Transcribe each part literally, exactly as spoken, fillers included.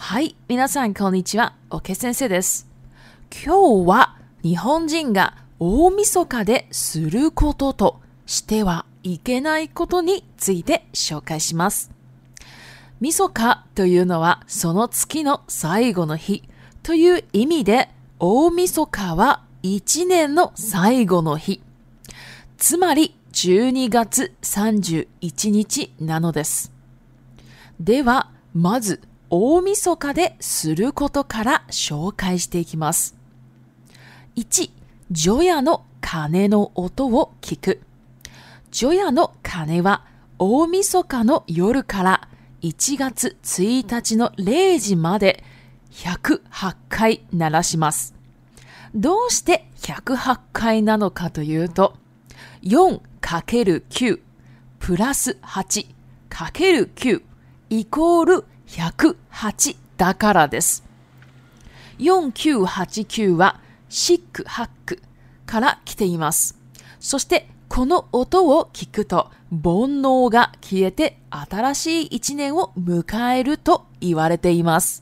はい、皆さんこんにちは、OK先生です。今日は日本人が大晦日ですることとしてはいけないことについて紹介します。晦日というのはその月の最後の日という意味で、大晦日は一年の最後の日。つまりじゅうにがつさんじゅういちにちなのです。では、まず大晦日ですることから紹介していきます。いち、除夜の鐘の音を聞く。除夜の鐘は大晦日の夜からいちがつついたちのれいじまでひゃくはちかい鳴らします。どうしてひゃくはちかいなのかというと、よんかけるきゅう プラスはちかけるきゅうイコールひゃくはちだからです。よんきゅうはちきゅうはシックハックから来ています。そしてこの音を聞くと煩悩が消えて新しい一年を迎えると言われています。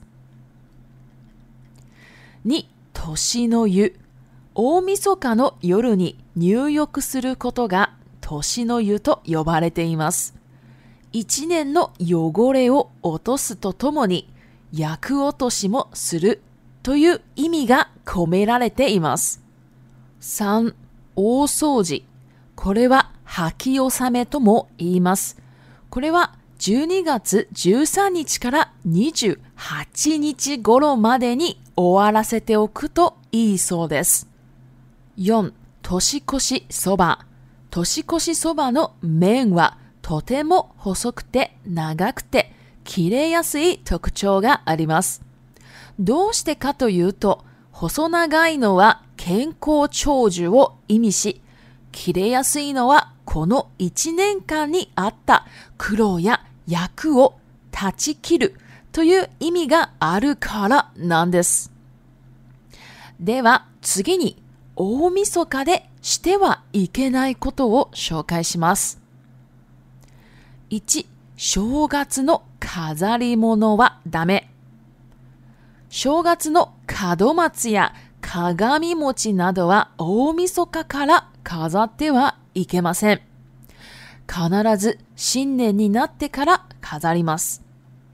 に、年の湯。大晦日の夜に入浴することが年の湯と呼ばれています。一年の汚れを落とすとともに厄落としもするという意味が込められています。さん、大掃除。これは掃き納めとも言います。これはじゅうにがつじゅうさんにちからにじゅうはちにち頃までに終わらせておくといいそうです。よん、年越しそば。年越しそばの麺はとても細くて長くて切れやすい特徴があります。どうしてかというと、細長いのは健康長寿を意味し、切れやすいのはこのいちねんかんにあった苦労や厄を断ち切るという意味があるからなんです。では次に大晦日でしてはいけないことを紹介します。いち、正月の飾り物はダメ。正月の門松や鏡餅などは大晦日から飾ってはいけません。必ず新年になってから飾ります。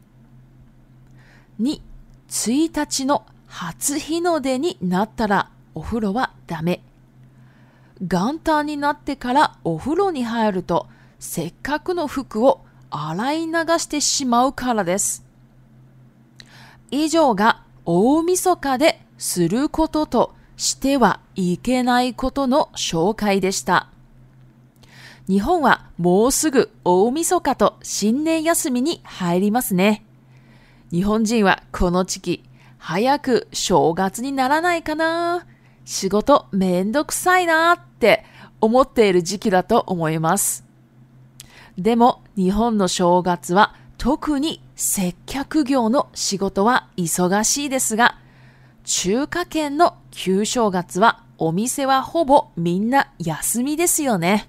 に、ついたちの初日の出になったらお風呂はダメ。元旦になってからお風呂に入ると、せっかくの服を洗い流してしまうからです。以上が大晦日ですることとしてはいけないことの紹介でした。日本はもうすぐ大晦日と新年休みに入りますね。日本人はこの時期、早く正月にならないかな、仕事めんどくさいなって思っている時期だと思います。でも日本の正月は特に接客業の仕事は忙しいですが、中華圏の旧正月はお店はほぼみんな休みですよね。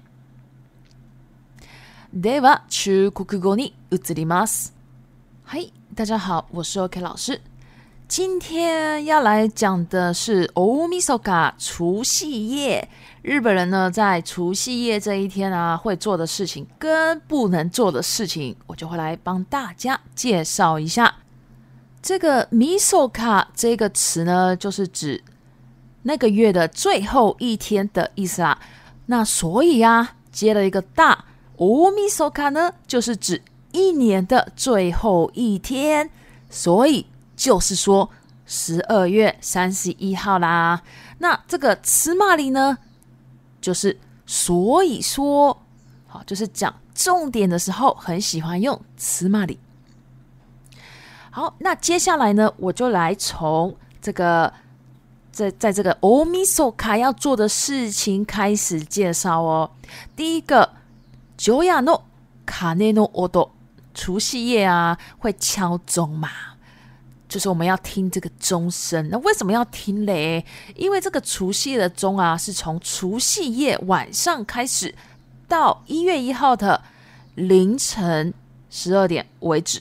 では中国語に移ります。はい、大家好，我是 OK 老师。今天要来讲的是大晦日除夕夜。日本人呢，在除夕夜这一天啊，会做的事情跟不能做的事情，我就会来帮大家介绍一下。这个 misoka 这个词呢，就是指那个月的最后一天的意思啦。那所以啊，接了一个大 大晦日呢，就是指一年的最后一天，所以就是说十二月三十一号啦。那这个つまり呢，就是所以说，好，就是讲重点的时候很喜欢用つまり。好，那接下来呢，我就来从这个在在这个大晦日要做的事情开始介绍哦。第一个，除夜の鐘の音，除夕夜啊会敲钟嘛，就是我们要听这个钟声。那为什么要听嘞？因为这个除夕夜的钟啊，是从除夕夜晚上开始，到一月一号的凌晨十二点为止。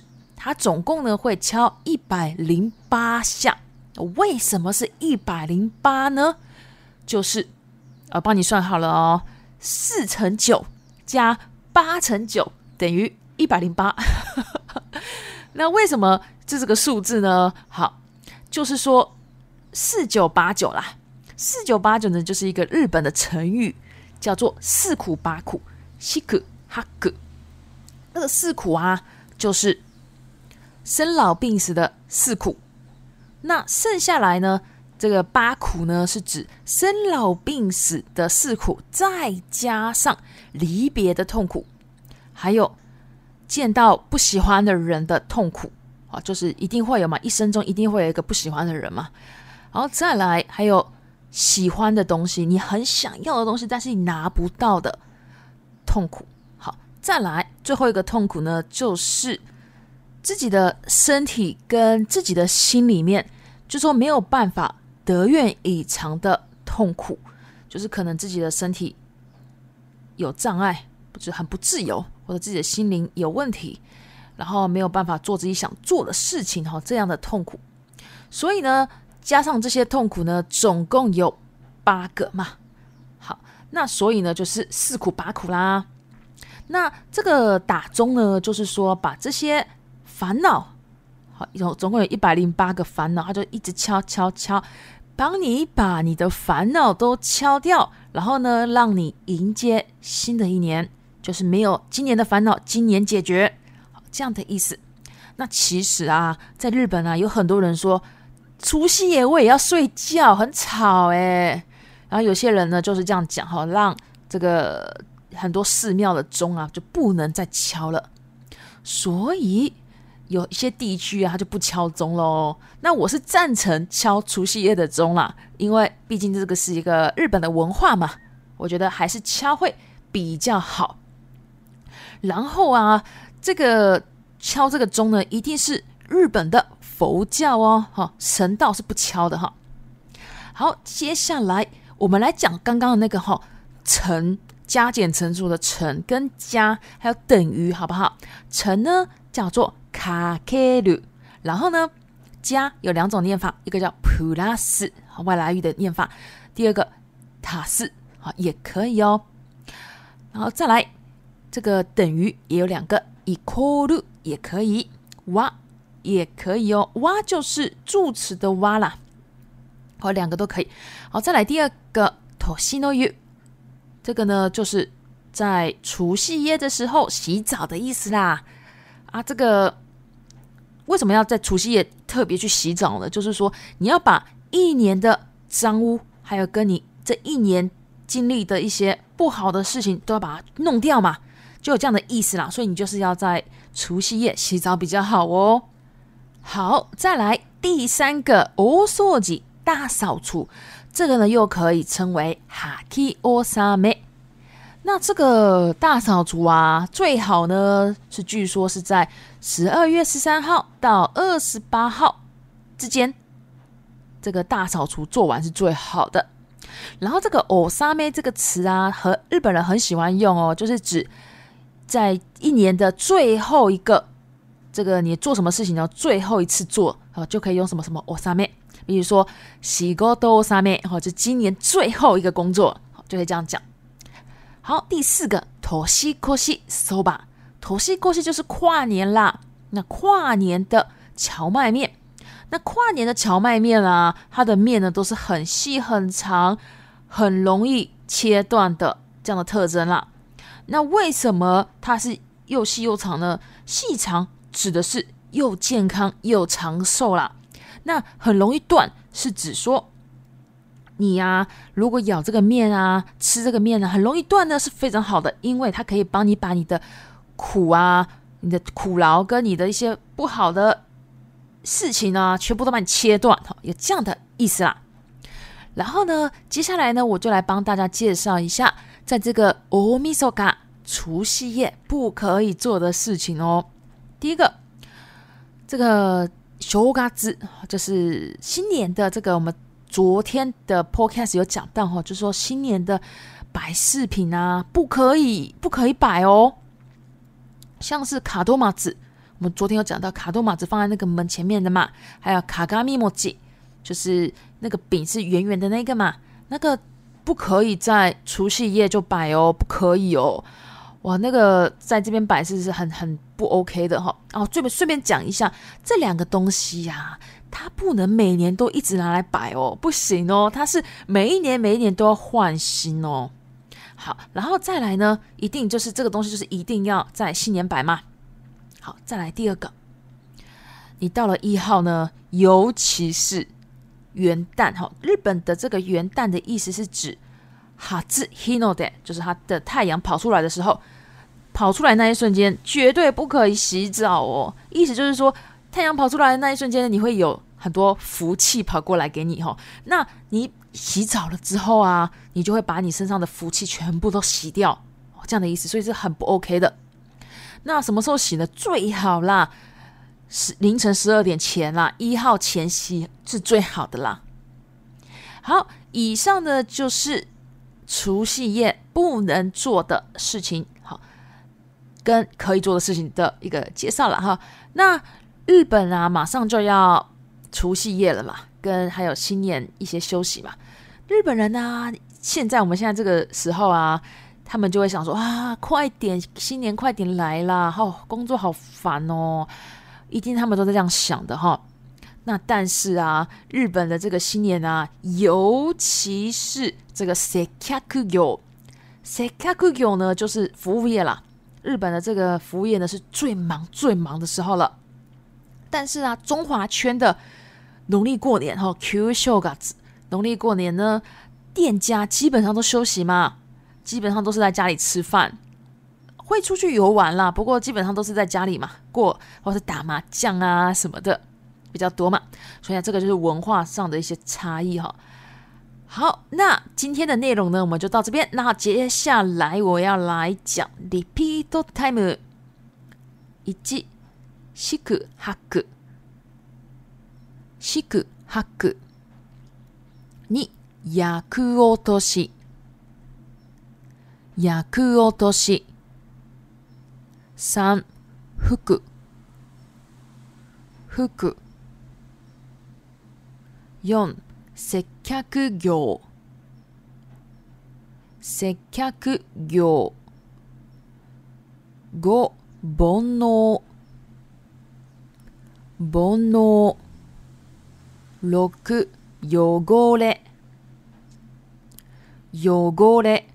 它总共呢会敲一百零八下。为什么是一百零八呢？就是呃，帮你算好了哦，四乘九加八乘九等于一百零八。那为什么这是个数字呢？好，就是说四九八九啦。四九八九呢，就是一个日本的成语，叫做四苦八苦，西苦哈苦。那个四苦啊，就是生老病死的四苦。那剩下来呢，这个八苦呢，是指生老病死的四苦，再加上离别的痛苦，还有见到不喜欢的人的痛苦啊，就是一定会有嘛，一生中一定会有一个不喜欢的人嘛。然后再来还有喜欢的东西，你很想要的东西，但是你拿不到的痛苦。好，再来最后一个痛苦呢，就是自己的身体跟自己的心里面，就说没有办法得愿以偿的痛苦，就是可能自己的身体有障碍，就是很不自由，或者自己的心灵有问题，然后没有办法做自己想做的事情，这样的痛苦。所以呢，加上这些痛苦呢，总共有八个嘛。好，那所以呢，就是四苦八苦啦。那这个打钟呢，就是说把这些烦恼，好，总共有一百零八个烦恼，它就一直敲敲敲，帮你把你的烦恼都敲掉，然后呢，让你迎接新的一年，就是没有今年的烦恼，今年解决，好，这样的意思。那其实啊，在日本啊，有很多人说除夕夜我也要睡觉，很吵哎。然后有些人呢就是这样讲哈，让这个很多寺庙的钟啊就不能再敲了，所以有一些地区啊，他就不敲钟咯。那我是赞成敲除夕夜的钟啦，因为毕竟这个是一个日本的文化嘛，我觉得还是敲会比较好。然后啊，这个敲这个钟呢，一定是日本的佛教哦，哈，神道是不敲的哈。好，接下来我们来讲刚刚的那个哈，乘加减乘除的乘跟加还有等于，好不好？乘呢叫做かける，然后呢，加有两种念法，一个叫プラス，外来语的念法，第二个足す，也可以哦。然后再来，这个等于也有两个，イコール也可以，wa也可以哦，哇就是助词的哇啦，好，两个都可以。好，再来第二个年の湯，这个呢就是在除夕夜的时候洗澡的意思啦。啊，这个为什么要在除夕夜特别去洗澡呢？就是说你要把一年的脏污，还有跟你这一年经历的一些不好的事情，都要把它弄掉嘛，就有这样的意思啦。所以你就是要在除夕夜洗澡比较好哦。好，再来第三个大掃除，大扫除，这个呢又可以称为哈基オサメ。那这个大扫除啊，最好呢是据说是在十二月十三号到二十八号之间，这个大扫除做完是最好的。然后这个オサメ这个词啊，和日本人很喜欢用哦，就是指在一年的最后一个。这个你做什么事情呢？最后一次做，就可以用什么什么オサメ，比如说仕事オサメ，就今年最后一个工作，就可以这样讲。好，第四个年越しそば，年越し就是跨年啦。那跨年的荞麦面，那跨年的荞麦面啊，它的面呢都是很细很长，很容易切断的这样的特征啦。那为什么它是又细又长呢？细长指的是又健康又长寿啦。那很容易断是指说你啊，如果咬这个面啊，吃这个面啊，很容易断呢，是非常好的，因为它可以帮你把你的苦啊、你的苦劳跟你的一些不好的事情啊，全部都把你切断，有这样的意思啦。然后呢，接下来呢，我就来帮大家介绍一下，在这个大晦日除夕夜不可以做的事情哦。第一个，这个正月就是新年的这个，我们昨天的 podcast 有讲到，就是说新年的摆饰品啊，不可以不可以摆哦，像是卡多玛子我们昨天有讲到卡多玛子放在那个门前面的嘛，还有卡嘎米莫吉，就是那个饼是圆圆的那个嘛，那个不可以在除夕夜就摆哦，不可以哦。哇，那个在这边摆是是很很不 OK 的哈。哦，顺便顺便讲一下，这两个东西呀、啊，它不能每年都一直拿来摆哦，不行哦，它是每一年每一年都要换新哦。好，然后再来呢，一定就是这个东西就是一定要在新年摆嘛。好，再来第二个，你到了一号呢，尤其是元旦哈，日本的这个元旦的意思是指哈兹 hinode， 就是它的太阳跑出来的时候，跑出来那一瞬间绝对不可以洗澡哦。意思就是说，太阳跑出来的那一瞬间，你会有很多福气跑过来给你哈。那你洗澡了之后啊，你就会把你身上的福气全部都洗掉，这样的意思，所以是很不 OK 的。那什么时候洗呢？最好啦，凌晨十二点前啦，一号前洗是最好的啦。好，以上呢就是除夕夜不能做的事情，好，跟可以做的事情的一个介绍了哈。那日本啊，马上就要除夕夜了嘛，跟还有新年一些休息嘛。日本人啊，现在我们现在这个时候啊，他们就会想说啊，快点，新年快点来啦！哦，工作好烦哦，一定他们都在这样想的哈。那但是啊，日本的这个新年啊，尤其是这个接客業，接客業呢就是服務業啦。日本的这个服务业呢是最忙最忙的时候了。但是啊，中华圈的农历过年哈，旧正月，农历过年呢，店家基本上都休息嘛。基本上都是在家里吃饭，会出去游玩啦，不过基本上都是在家里嘛过，或是打麻将啊什么的比较多嘛，所以这个就是文化上的一些差异哈。好，那今天的内容呢，我们就到这边。那接下来我要来讲 repeat time， 一、四く八く、四く八く、二、厄落とし、厄落とし、三、吹く、吹く、四、接客業、接客業、五、煩悩、煩悩、六、汚れ、汚れ。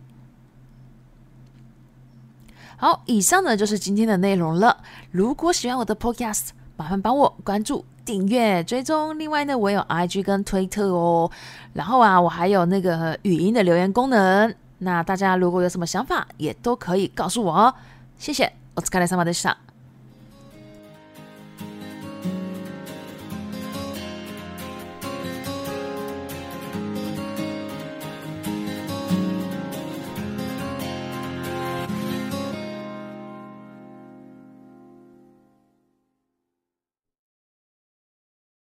好，以上呢就是今天的内容了。如果喜欢我的 podcast， 麻烦帮我关注、订阅、追踪。另外呢，我有 I G 跟推特哦。然后啊，我还有那个语音的留言功能。那大家如果有什么想法，也都可以告诉我哦。谢谢，お疲れ様でした。